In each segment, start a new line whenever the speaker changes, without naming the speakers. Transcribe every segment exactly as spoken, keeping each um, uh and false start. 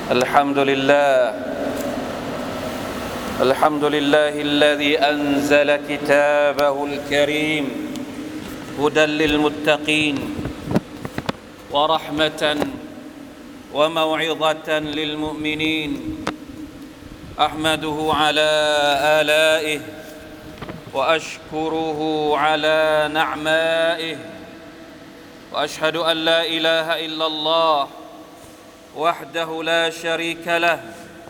الحمد لله الحمد لله الذي أنزل كتابه الكريم هدى للمتقين ورحمة وموعظة للمؤمنين أحمده على آلائه وأشكره على نعمائه وأشهد أن لا إله إلا الله وحده لا شريك له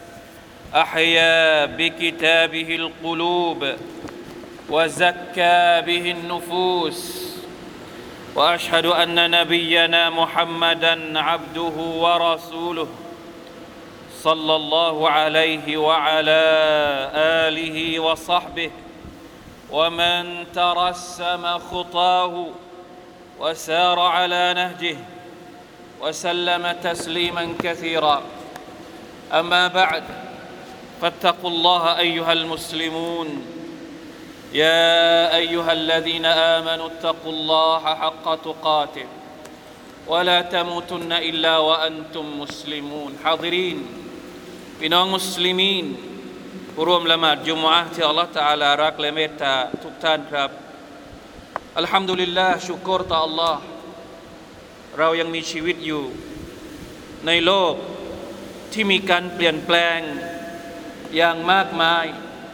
أحيا بكتابه القلوب وزكى به النفوس وأشهد أن نبينا محمدًا عبده ورسوله صلى الله عليه وعلى آله وصحبه ومن ترسم خطاه وسار على نهجه وسلم تسليما كثيرا أما بعد فاتقوا الله أيها المسلمون يا أيها الذين آمنوا اتقوا الله حق تقاته ولا تموتن إلا وأنتم مسلمون حاضرين พี่น้องมุสลิมีนผู้ร่วมละหมาดจุมอะห์ที่อัลเลาะห์ตะอาลารักและเมตตาทุกท่านครับอัลฮัมดุลิลลาห์ชุกรต่ออัลลอฮ์เรายังมีชีวิตอยู่ในโลกที่มีการเปลี่ยนแปลงอย่างมากมาย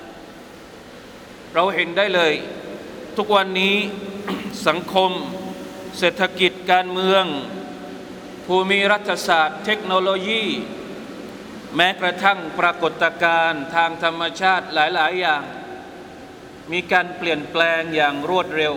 เราเห็นได้เลยทุกวันนี้ สังคมเศรษฐกิจการเมืองภูมิรัฐศาสตร์เทคโนโลยีแม้กระทั่งปรากฏการณ์ทางธรรมชาติหลายๆอย่างมีการเปลี่ยนแปลงอย่างรวดเร็ว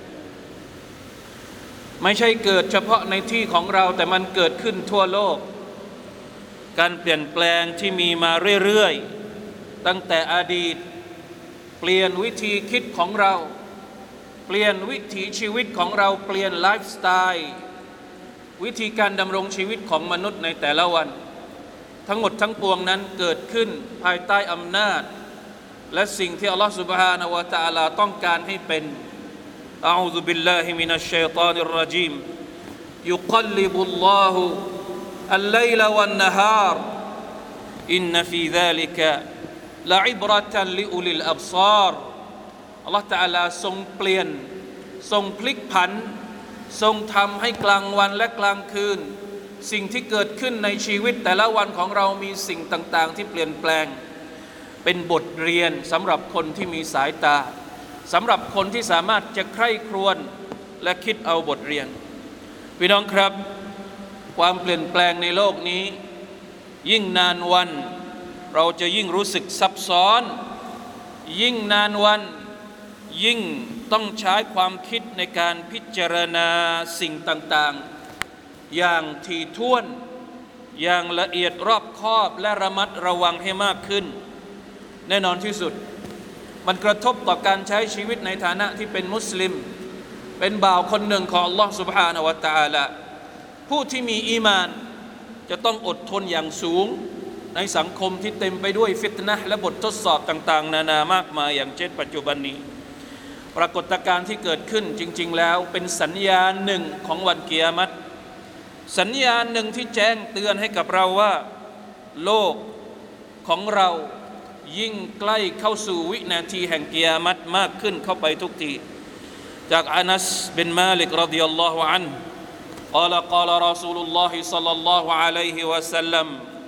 ไม่ใช่เกิดเฉพาะในที่ของเราแต่มันเกิดขึ้นทั่วโลกการเปลี่ยนแปลงที่มีมาเรื่อยๆตั้งแต่อดีตเปลี่ยนวิธีคิดของเราเปลี่ยนวิถีชีวิตของเราเปลี่ยนไลฟ์สไตล์วิธีการดำรงชีวิตของมนุษย์ในแต่ละวันทั้งหมดทั้งปวงนั้นเกิดขึ้นภายใต้อำนาจและสิ่งที่อัลลอฮฺ سبحانه และ تعالى ต้องการให้เป็นอะอูซุบิลลาฮิมินัชชัยฏอนิรเราะญีมยุกัลลิบุลลอฮุอัลไลลวันนะฮาร์อินนะฟีซาลิกะละอิบเราะตันลิอุลิลอับศาร์อัลลอฮฺ تعالى ทรงเปลี่ยนทรงพลิกผันทรงทำให้กลางวันและกลางคืนสิ่งที่เกิดขึ้นในชีวิตแต่ละวันของเรามีสิ่งต่างๆที่เปลี่ยนแปลงเป็นบทเรียนสำหรับคนที่มีสายตาสำหรับคนที่สามารถจะใคร่ครวญและคิดเอาบทเรียนพี่น้องครับความเปลี่ยนแปลงในโลกนี้ยิ่งนานวันเราจะยิ่งรู้สึกซับซ้อนยิ่งนานวันยิ่งต้องใช้ความคิดในการพิจารณาสิ่งต่างๆอย่างถี่ถ้วนอย่างละเอียดรอบคอบและระมัดระวังให้มากขึ้นแน่นอนที่สุดมันกระทบต่อการใช้ชีวิตในฐานะที่เป็นมุสลิมเป็นบ่าวคนหนึ่งของ Allah سبحانه และ تعالى ผู้ที่มีอีมานจะต้องอดทนอย่างสูงในสังคมที่เต็มไปด้วยฟิตนะห์และบททดสอบต่างๆนานามากมายอย่างเช่นปัจจุบันนี้ปรากฏการณ์ที่เกิดขึ้นจริงๆแล้วเป็นสัญญาณหนึ่งของวันกิยามะฮ์สัญญาณหนึ่งที่แจ้งเตือนให้กับเราว่าโลกของเรายิ่งใกล้เข้าสู่วินาทีแห่งกิยามะฮ์มากขึ้นเข้าไปทุกทีจากอานัสบินมาลิกรอฎิยัลลอฮุอันฮุ قال قال رسول الله صلى الله عليه وسلم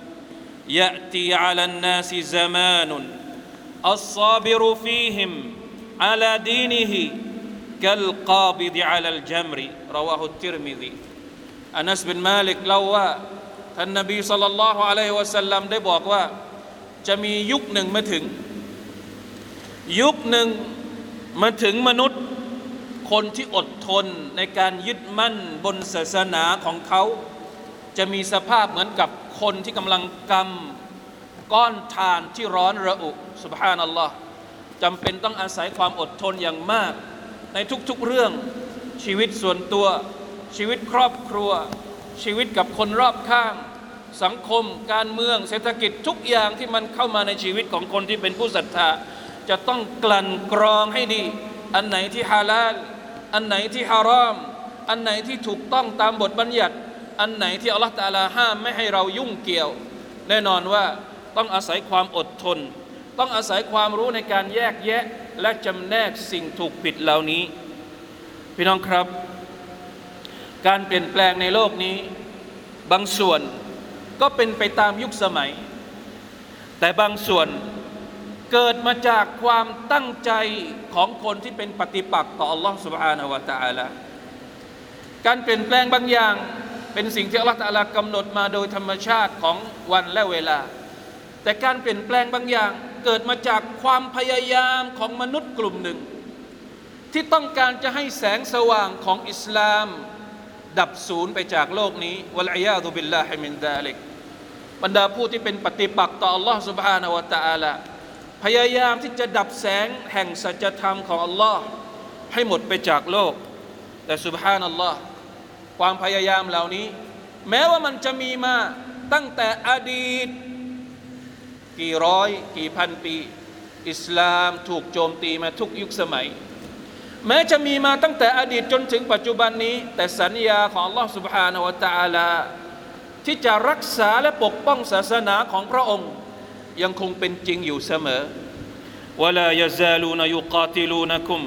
يأتي على الناس زمان الصابر فيهم على دينه كالقابض على الجمر رواه الترمذي อานัสบินมาลิกเล่าว่าท่านนบีศ็อลลัลลอฮุอะลัยฮิวะซัลลัมได้บอกว่าจะมียุคหนึ่งมาถึงยุคหนึ่งมาถึงมนุษย์คนที่อดทนในการยึดมั่นบนศาสนาของเขาจะมีสภาพเหมือนกับคนที่กำลังกำก้อนถ่านที่ร้อนระอุซุบฮานัลลอฮ์จำเป็นต้องอาศัยความอดทนอย่างมากในทุกๆเรื่องชีวิตส่วนตัวชีวิตครอบครัวชีวิตกับคนรอบข้างสังคมการเมืองเศรษฐกิจทุกอย่างที่มันเข้ามาในชีวิตของคนที่เป็นผู้ศรัทธาจะต้องกลั่นกรองให้ดีอันไหนที่ฮาลาลอันไหนที่ฮารอมอันไหนที่ถูกต้องตามบทบัญญัติอันไหนที่อัลลอฮฺตะอาลาห้ามไม่ให้เรายุ่งเกี่ยวแน่นอนว่าต้องอาศัยความอดทนต้องอาศัยความรู้ในการแยกแยะและจำแนกสิ่งถูกผิดเหล่านี้พี่น้องครับการเปลี่ยนแปลงในโลกนี้บางส่วนก็เป็นไปตามยุคสมัยแต่บางส่วนเกิดมาจากความตั้งใจของคนที่เป็นปฏิปักษ์ต่อ Allah Subhanahu Wa Taala การเปลี่ยนแปลงบางอย่างเป็นสิ่งที่ Allah Taala กำหนดมาโดยธรรมชาติของวันและเวลาแต่การเปลี่ยนแปลงบางอย่างเกิดมาจากความพยายามของมนุษย์กลุ่มหนึ่งที่ต้องการจะให้แสงสว่างของอิสลามดับสูญไปจากโลกนี้วัลอียาซุบิลลาฮิมินซาลิกบรรดาผู้ที่เป็นปฏิปักษ์ต่อ Allah Subhanahu Wa Taala พยายามที่จะดับแสงแห่งสัจธรรมของ Allah ให้หมดไปจากโลกแต่ซุบฮานัลลอฮ์ความพยายามเหล่านี้แม้ว่ามันจะมีมาตั้งแต่อดีตกี่ร้อยกี่พันปีอิสลามถูกโจมตีมาทุกยุคสมัยแม้จะมีมาตั้งแต่อดีตจนถึงปัจจุบันนี้แต่สัญญาของ Allah Subhanahu Wa Taala ที่จะรักษาและปกป้องศาสนาของพระองค์ยังคงเป็นจริงอยู่เสมอ ولا يزالون يقاتلونكم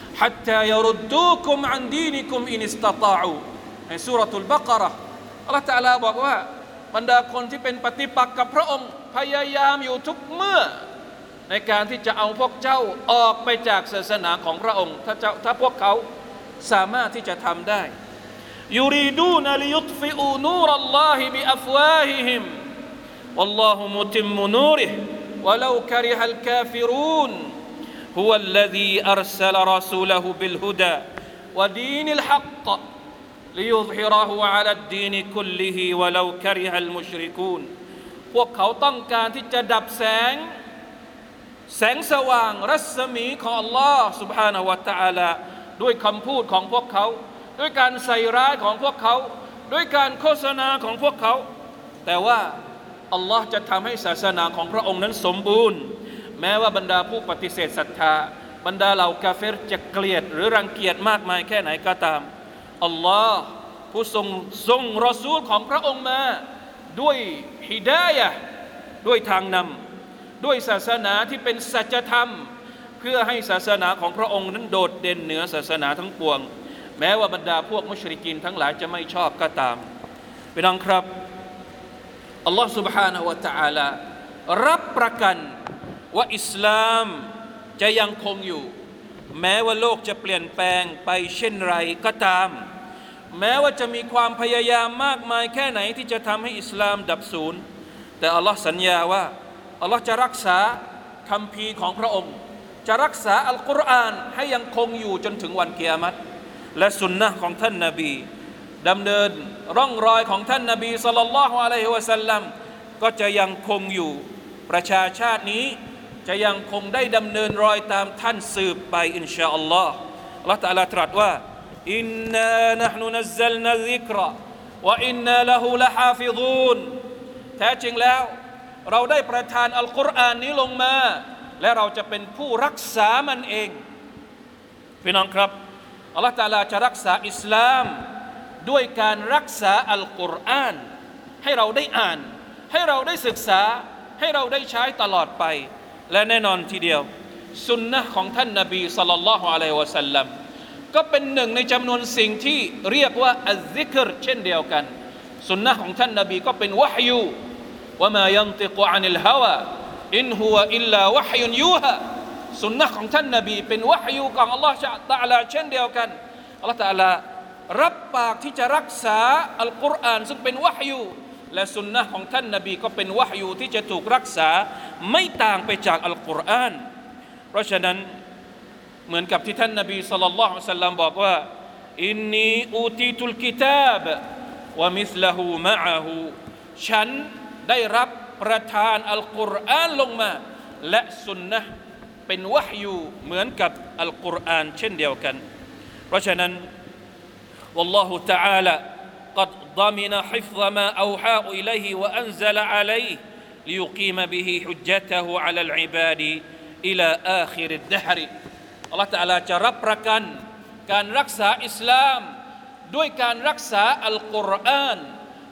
حتى يردوكم عن دينكم إن استطاعوا ในซูเราะตุลบะเกาะเราะห์อัลเลาะห์ตะอาลาบอกว่าบรรดาคนที่เป็นปฏิปักษ์กับพระองค์พยายามอยู่ทุกเมื่อในการที่จะเอาพวกเจ้าออกไปจากศาสนาของพระองค์ถ้าเจ้าถ้าพวกเขาสามารถที่จะทำได้ยูรีดูนลิยุตฟิอูนูรัลลอฮิบิอัฟวาฮิฮิมวัลลอฮุมุติมมุนูริฮิวะลาคาริฮัลกาฟิรูนฮุวัลลซีอัรซะลรอซูละฮูบิลฮุดาวะดีนิลฮักลิยุซฮิเราะฮูอะลัดดีนคุลลิฮิวะลาคาริฮัลมุชริกูนพวกเขาต้องการที่จะดับแสงแสงสว่างรัศมีของ Allah Subhanahu Wa Taala ด้วยคำพูดของพวกเขาด้วยการใส่ร้ายของพวกเขาด้วยการโฆษณาของพวกเขาแต่ว่าอัลลอฮ์จะทำให้ศาสนาของพระองค์นั้นสมบูรณ์แม้ว่าบรรดาผู้ปฏิเสธศรัทธาบรรดาเหล่ากาเฟรจะเกลียดหรือรังเกียจมากมายแค่ไหนก็ตามอัลลอฮ์ผู้ทรงทรงรอซูลของพระองค์มาด้วยฮิดายะห์ด้วยทางนำด้วยศาสนาที่เป็นสัจธรรมเพื่อให้ศาสนาของพระองค์นั้นโดดเด่นเหนือศาสนาทั้งปวงแม้ว่าบรรดาพวกมุชริกีนทั้งหลายจะไม่ชอบก็ตามพี่น้องครับอัลลอฮฺ سبحانه และ تعالى รับประกันว่าอิสลามจะยังคงอยู่แม้ว่าโลกจะเปลี่ยนแปลงไปเช่นไรก็ตามแม้ว่าจะมีความพยายามมากมายแค่ไหนที่จะทำให้อิสลามดับสูญแต่อัลลอฮ์สัญญาว่าอัลลอฮ์จะรักษาคัมภีร์ของพระองค์จะรักษาอัลกุรอานให้ยังคงอยู่จนถึงวันกิยามะฮ์และสุนนะของท่านนบีดำเนินร่องรอยของท่านนบีศ็อลลัลลอฮุอะลัยฮิวะซัลลัมก็จะยังคงอยู่ประชาชาตินี้จะยังคงได้ดำเนินรอยตามท่านสืบไปอินชาอัลลอฮ์อัลลอฮ์ตะอาลาตรัสว่าอินนานะห์นุนัซซัลนาซิกรอวะอินนาละฮูละฮาฟิซูนแท้จริงแล้วเราได้ประทานอัลกุรอานนี้ลงมาและเราจะเป็นผู้รักษามันเองพี่น้องครับอัลลอฮฺตะอาลาจะรักษาอิสลามด้วยการรักษาอัลกุรอานให้เราได้อ่านให้เราได้ศึกษาให้เราได้ใช้ตลอดไปและแน่นอนทีเดียวสุนนะของท่านนบีศ็อลลัลลอฮุอะลัยฮิวะซัลลัมก็เป็นหนึ่งในจำนวนสิ่งที่เรียกว่าอัซซิกรเช่นเดียวกันสุนนะของท่านนบีก็เป็นวะฮยูว่ามายันติกุอานิลฮาวาอินฮุวะอิลลาวะฮยุนยูฮะสุนนะของท่านนบีเป็นวะฮยูของอัลลอฮฺตะอาลาเช่นเดียวกันอัลลอฮฺตะอาลารับปากที่จะรักษาอัลกุรอานซึ่งเป็นวะฮยูและสุนนะของท่านนบีก็เป็นวะฮยูที่จะถูกรักษาไม่ต่างไปจากอัลกุรอานเพราะฉะนั้นเหมือนกับที่ท่านนบีศ็อลลัลลอฮุอะลัยฮิวะซัลลัมบอกว่าอินนีอูตีตุลกิตาบวะมิสละฮูมะอะฮูฉันได้รับประทานอัลกุรอานลงมาและสุนนะห์เป็นวะฮยูเหมือนกับอัลกุรอานเช่นเดียวกันเพราะฉะนั้นวัลลอฮุตะอาลาقد ضمن حفظ ما أوحى إليه وأنزل عليه ليقيم به حجته على العباد إلى آخر الدهر อัลลอฮฺตะอาลาจะรับประกันการรักษาอิสลามด้วยการรักษาอัลกุรอาน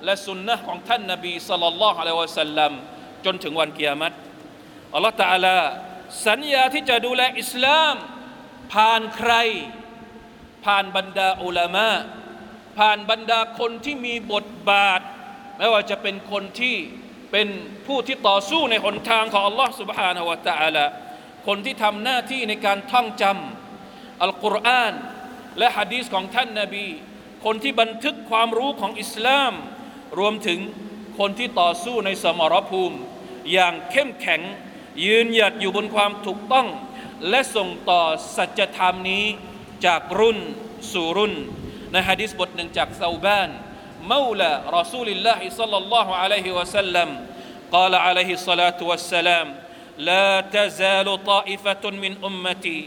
และสุนนะของท่านนบีศ็อลลัลลอฮุอะลัยฮิวะซัลลัมจนถึงวันกิยามะฮ์อัลลอฮฺตะอาลาสัญญาที่จะดูแลอิสลามผ่านใครผ่านบรรดาอุลามะผ่านบรรดาคนที่มีบทบาทไม่ว่าจะเป็นคนที่เป็นผู้ที่ต่อสู้ในหนทางของอัลลอฮฺ سبحانه และ تعالى คนที่ทำหน้าที่ในการท่องจำอัลกุรอานและหะดีษของท่านนบีคนที่บันทึกความรู้ของอิสลามรวมถึงคนที่ต่อสู้ในสมรภูมิอย่างเข้มแข็งยืนหยัดอยู่บนความถูกต้องและส่งต่อสัจธรรมนี้จากรุ่นสู่รุ่นในหะดีษบทหนึ่งจากซอบานมาวลารอซูลิลลาฮิศ็อลลัลลอฮุอะลัยฮิวะซัลลัม قال عليه الصلاة والسلام لا تزال طائفة من أمتي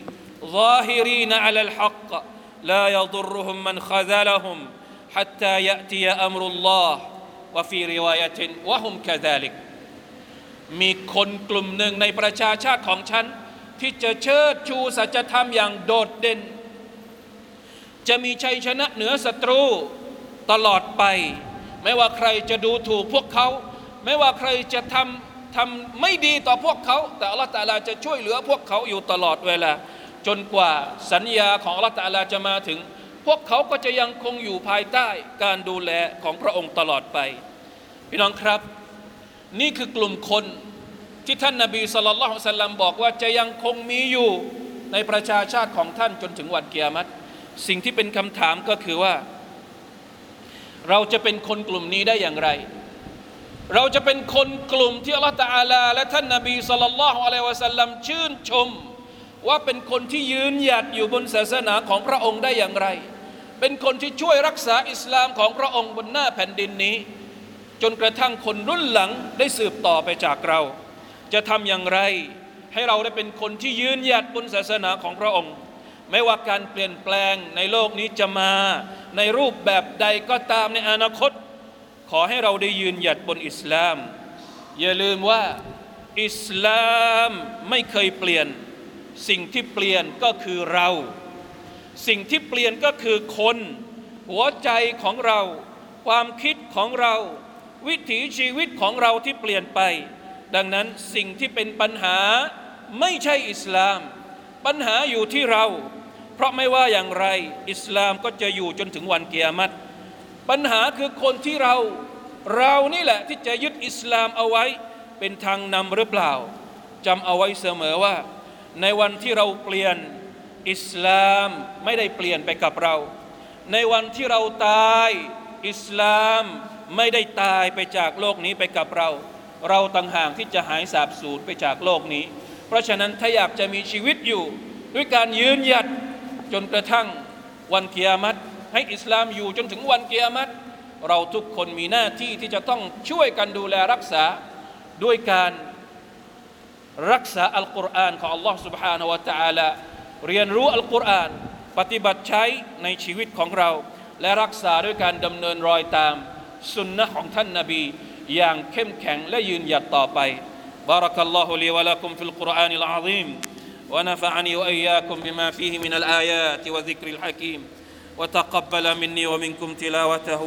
ظاهرين على الحق لا يضرهم من خذلهم حتى يأتي أمر الله وفي رواية وهم كذلك มีคนกลุ่มหนึ่งในประชาชาติของฉันที่จะเชิดชูสัจธรรมอย่างโดดเด่นจะมีชัยชนะเหนือศัตรูตลอดไปไม่ว่าใครจะดูถูกพวกเขาไม่ว่าใครจะทำทำไม่ดีต่อพวกเขาแต่อัลเลาะห์ตะอาลาจะช่วยเหลือพวกเขาอยู่ตลอดเวลาจนกว่าสัญญาของอัลเลาะห์ตะอาลาจะมาถึงพวกเขาก็จะยังคงอยู่ภายใต้การดูแลของพระองค์ตลอดไปพี่น้องครับนี่คือกลุ่มคนที่ท่านนบีศ็อลลัลลอฮุอะลัยฮิวะซัลลัมบอกว่าจะยังคงมีอยู่ในประชาชาติของท่านจนถึงวันกิยามะฮ์สิ่งที่เป็นคำถามก็คือว่าเราจะเป็นคนกลุ่มนี้ได้อย่างไรเราจะเป็นคนกลุ่มที่อัลเลาะห์ตะอาลาและท่านนบีศ็อลลัลลอฮุอะลัยฮิวะซัลลัมชื่นชมว่าเป็นคนที่ยืนหยัดอยู่บนศาสนาของพระองค์ได้อย่างไรเป็นคนที่ช่วยรักษาอิสลามของพระองค์บนหน้าแผ่นดินนี้จนกระทั่งคนรุ่นหลังได้สืบต่อไปจากเราจะทำอย่างไรให้เราได้เป็นคนที่ยืนหยัดบนศาสนาของพระองค์ไม่ว่าการเปลี่ยนแปลงในโลกนี้จะมาในรูปแบบใดก็ตามในอนาคตขอให้เราได้ยืนหยัดบนอิสลามอย่าลืมว่าอิสลามไม่เคยเปลี่ยนสิ่งที่เปลี่ยนก็คือเราสิ่งที่เปลี่ยนก็คือคนหัวใจของเราความคิดของเราวิถีชีวิตของเราที่เปลี่ยนไปดังนั้นสิ่งที่เป็นปัญหาไม่ใช่อิสลามปัญหาอยู่ที่เราเพราะไม่ว่าอย่างไรอิสลามก็จะอยู่จนถึงวันกิยามะฮ์ปัญหาคือคนที่เราเรานี่แหละที่จะยึดอิสลามเอาไว้เป็นทางนำหรือเปล่าจำเอาไว้เสมอว่าในวันที่เราเปลี่ยนอิสลามไม่ได้เปลี่ยนไปกับเราในวันที่เราตายอิสลามไม่ได้ตายไปจากโลกนี้ไปกับเราเราต่างหากที่จะหายสาบสูญไปจากโลกนี้เพราะฉะนั้นถ้าอยากจะมีชีวิตอยู่ด้วยการยืนหยัดจนกระทั่งวันกิยามะฮ์ให้อิสลามอยู่จนถึงวันกิยามะฮ์เราทุกคนมีหน้าที่ที่จะต้องช่วยกันดูแลรักษาด้วยการรักษาอัลกุรอานของอัลลอฮ์ سبحانه และ تعالى เรียนรู้อัลกุรอานปฏิบัติใช้ในชีวิตของเราและรักษาด้วยการดำเนินรอยตามสุนนะของท่านนบีอย่างเข้มแข็งและยืนหยัดต่อไปบารักัลลอฮุลีวะละกุมฟิลกุรอานิลอะซีมونفعني وإياكم بما فيه من الآيات وذكر الحكيم وتقبل مني ومنكم تلاوته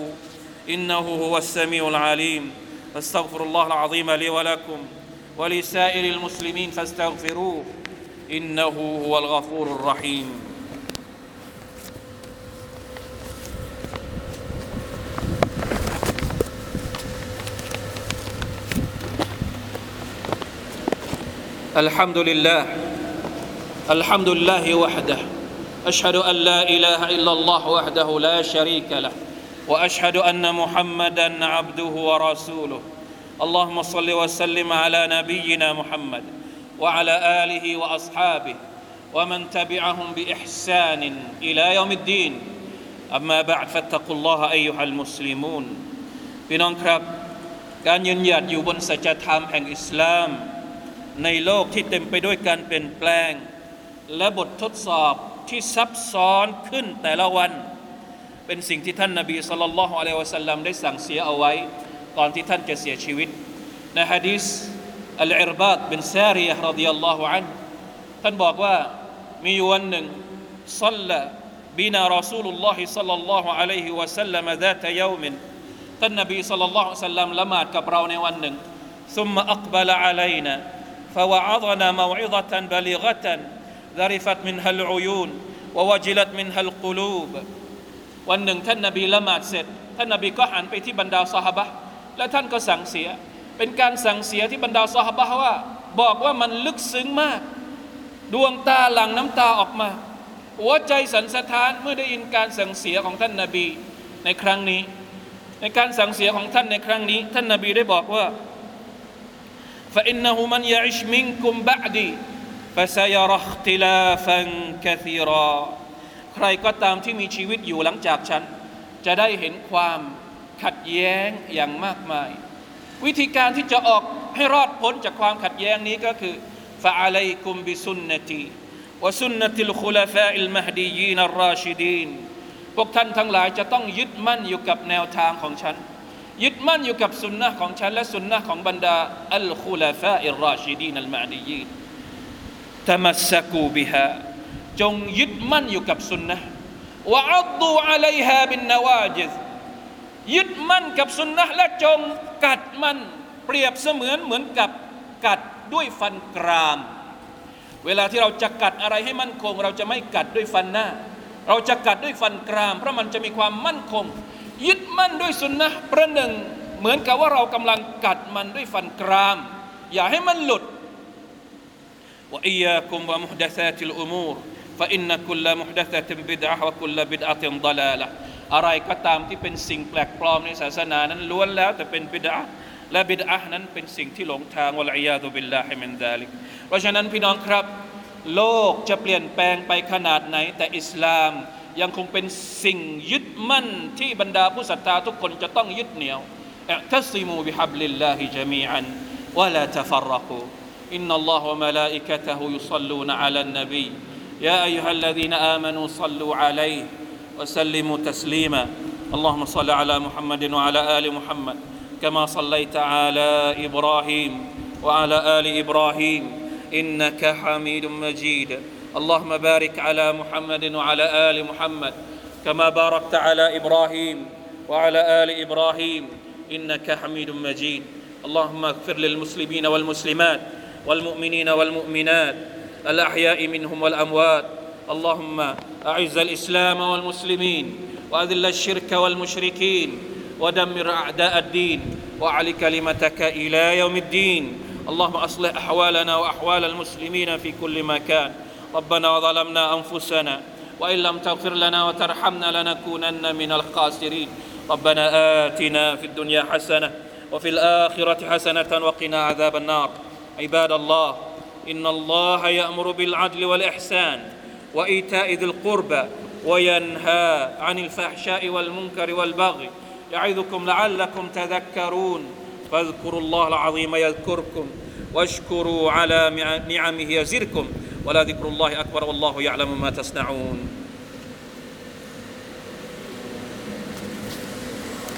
إنه هو السميع العليم فاستغفر الله العظيم لي ولكم ولسائر المسلمين فاستغفروه إنه هو الغفور الرحيم الحمد لله الحمد لله وحده أشهد أن لا إله إلا الله وحده لا شريك له وأشهد أن محمدا عبده ورسوله اللهم صل وسلم على نبينا محمد وعلى آله وأصحابه ومن تبعهم بإحسان إلى يوم الدين أما بعد فاتقوا الله أيها المسلمون พี่น้องครับการยืนหยัดอยู่บนสัจธรรมแห่งอิสลามในโลกที่เต็มไปด้วยการเปลี่ยนแปลงและบททดสอบที่ซับซ้อนขึ้นแต่ละวันเป็นสิ่งที่ท่านนบีศ็อลลัลลอฮุอะลัยฮิวะซัลลัมได้สั่งเสียเอาไว้ก่อนที่ท่านจะเสียชีวิตในหะดีษอัลอิรบาดบินซาริยะฮ์รอฎิยัลลอฮุอันฮุท่านบอกว่ามีวันหนึ่งศ็อลลาบินารอซูลุลลอฮิศ็อลลัลลอฮุอะลัยฮิวะซัลลัม ذات يوم ท่านนบีศ็อลลัลลอฮุอะลัยฮิวะซัลลัมละหมาดกับเราในวันหนึ่ง ثم أقبل علينا فوعظنا موعظة بليغة ذرفت منها العيون ووجلت منها القلوب วันหนึ่งท่านนบีละหมาดเสร็จท่านนบีก็หันไปที่บรรดาซอฮาบะห์และท่านก็สั่งเสียเป็นการสั่งเสียที่บรรดาซอฮาบะห์ว่าบอกว่ามันลึกซึ้งมากดวงตาหลั่งน้ำตาออกมาหัวใจสั่นสะท้านเมื่อได้ยินการสั่งเสียของท่านนบีในครั้งนี้ในการสั่งเสียของท่านในครั้งนี้ท่านนบีได้บอกว่า فإنه من يعش منكم بعدي فسيرى اختلافا كثيرا ใครก็ตามที่มีชีวิตอยู่หลังจากฉันจะได้เห็นความขัดแย้งอย่างมากมายวิธีการที่จะออกให้รอดพ้นจากความขัดแย้งนี้ก็คือ فعليكم بسنتي وسنة الخلفاء المهديين الراشدين พวกท่านทั้งหลายจะต้องยึดมั่นอยู่กับแนวทางของฉันยึดมั่นอยู่กับสุนนะห์ของฉันและสุนนะห์ของบรรดาอัลคุลาฟาอิรราชิดีนอัลมะดียีนตะมัสซะกูบิฮาจงยึดมั่นอยู่กับสุนนะห์วะอัฎูอะลัยฮาบินนวาจิซยึดมั่นกับสุนนะห์และจงกัดมันเปรียบเสมือนเหมือนกับกัดด้วยฟันกรามเวลาที่เราจะกัดอะไรให้มั่นคงเราจะไม่กัดด้วยฟันหน้าเราจะกัดด้วยฟันกรามเพราะมันจะมีความมั่นคงยึดมั่นด้วยสุนนะห์ประหนึ่งเหมือนกับว่าเรากำลังกัดมันด้วยฟันกรามอย่าให้มันหลุดวะอียากุมวะมุฮดะซาติลอุมูรฟะอินนะกุลมุฮดะซะตินบิดอะฮ์วะกุลบิดอะตินฎอลาละห์อะไรก็ตามที่เป็นสิ่งแปลกปลอมในศาสนานั้นล้วนแล้วแต่เป็นบิดอะห์และบิดอะห์นั้นเป็นสิ่งที่หลงทางวะลัยยาซุบิลลาฮิมินซาลิกเพราะฉะนั้นพี่น้องครับโลกจะเปลี่ยนแปลงไปขนาดไหนแต่อิสลามยังคงเป็นสิ่งยึดมั่นที่บรรดาผู้ศรัทธาทุกคนจะต้องยึดเหนี่ยวอิอ์ตัซิมูบิฮับลิลลาฮิญะมีอันวะลาตะฟัรรกูอินนัลลอฮะวะมะลาอิกะตะฮุยุศ็อลลูนอะลันนบียาอัยยูฮัลลซีนอามานูศ็อลลูอะลัยฮิวะซัลลิมูตัสลีมาอัลลอฮุมะศ็อลลิอะลามุฮัมมัดวะอะลาอาลิมุฮัมมัดกะมาศ็อลลัยตะอะลาอิบราฮีมวะอะลาอาลิอิบราฮีมอินนะกะฮะมีดุมมะญีดاللهم بارك على محمد وعلى آل محمد كما باركت على إبراهيم وعلى آل إبراهيم إنك حميد مجيد اللهم اغفر للمسلمين والمسلمات والمؤمنين والمؤمنات الأحياء منهم والأموات اللهم أعز الإسلام والمسلمين وأذل الشرك والمشركين ودمر أعداء الدين وأعل كلمتك إلى يوم الدين اللهم أصلح أحوالنا وأحوال المسلمين في كل مكان ربنا ظلمنا أنفسنا وإن لم تغفر لنا وترحمنا لنكونن من الخاسرين ربنا آتنا في الدنيا حسنة وفي الآخرة حسنة وقنا عذاب النار عباد الله إن الله يأمر بالعدل والإحسان وإيتاء ذي القربى وينهى عن الفحشاء والمنكر والبغي يعظكم لعلكم تذكرون فاذكروا الله العظيم يذكركم واشكروا على نعمه يزدكم ولذكر الله أكبر والله يعلم ما تصنعون